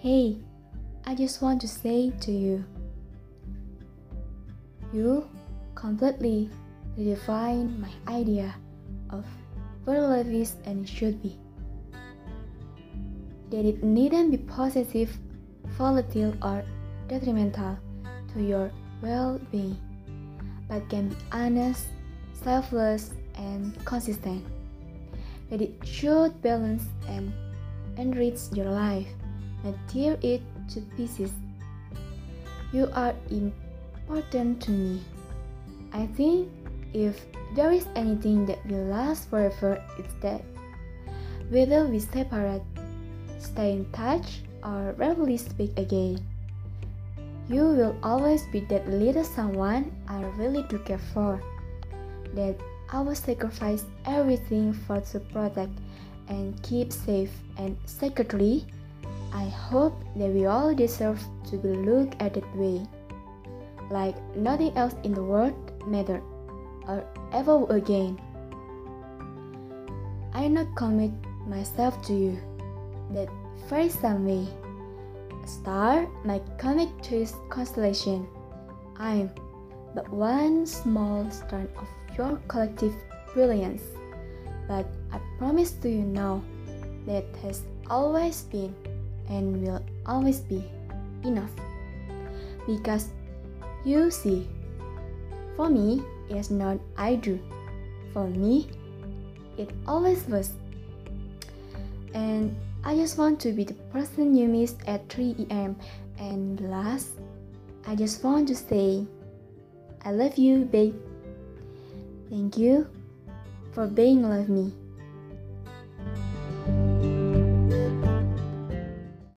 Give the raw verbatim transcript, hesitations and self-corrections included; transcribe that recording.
Hey, I just want to say to you, you completely redefine my idea of what life is and should be. That it needn't be possessive, volatile, or detrimental to your well-being, but can be honest, selfless, and consistent. That it should balance and enrich your life, not tear it to pieces. You are important to me. I think if there is anything that will last forever, it's that. Whether we separate, stay in touch, or rarely speak again, you will always be that little someone I really do care for, that I will sacrifice everything for to protect and keep safe, and secretly, I hope that we all deserve to be looked at that way, like nothing else in the world mattered or ever will again. I not commit myself to you, that very some way. A star might commit to its constellation. I'm but one small strand of your collective brilliance, but I promise to you now that has always been and will always be enough. Because you see, for me, it's not I do. For me, it always was. And I just want to be the person you miss at three a m And last, I just want to say, I love you, babe. Thank you for being with me.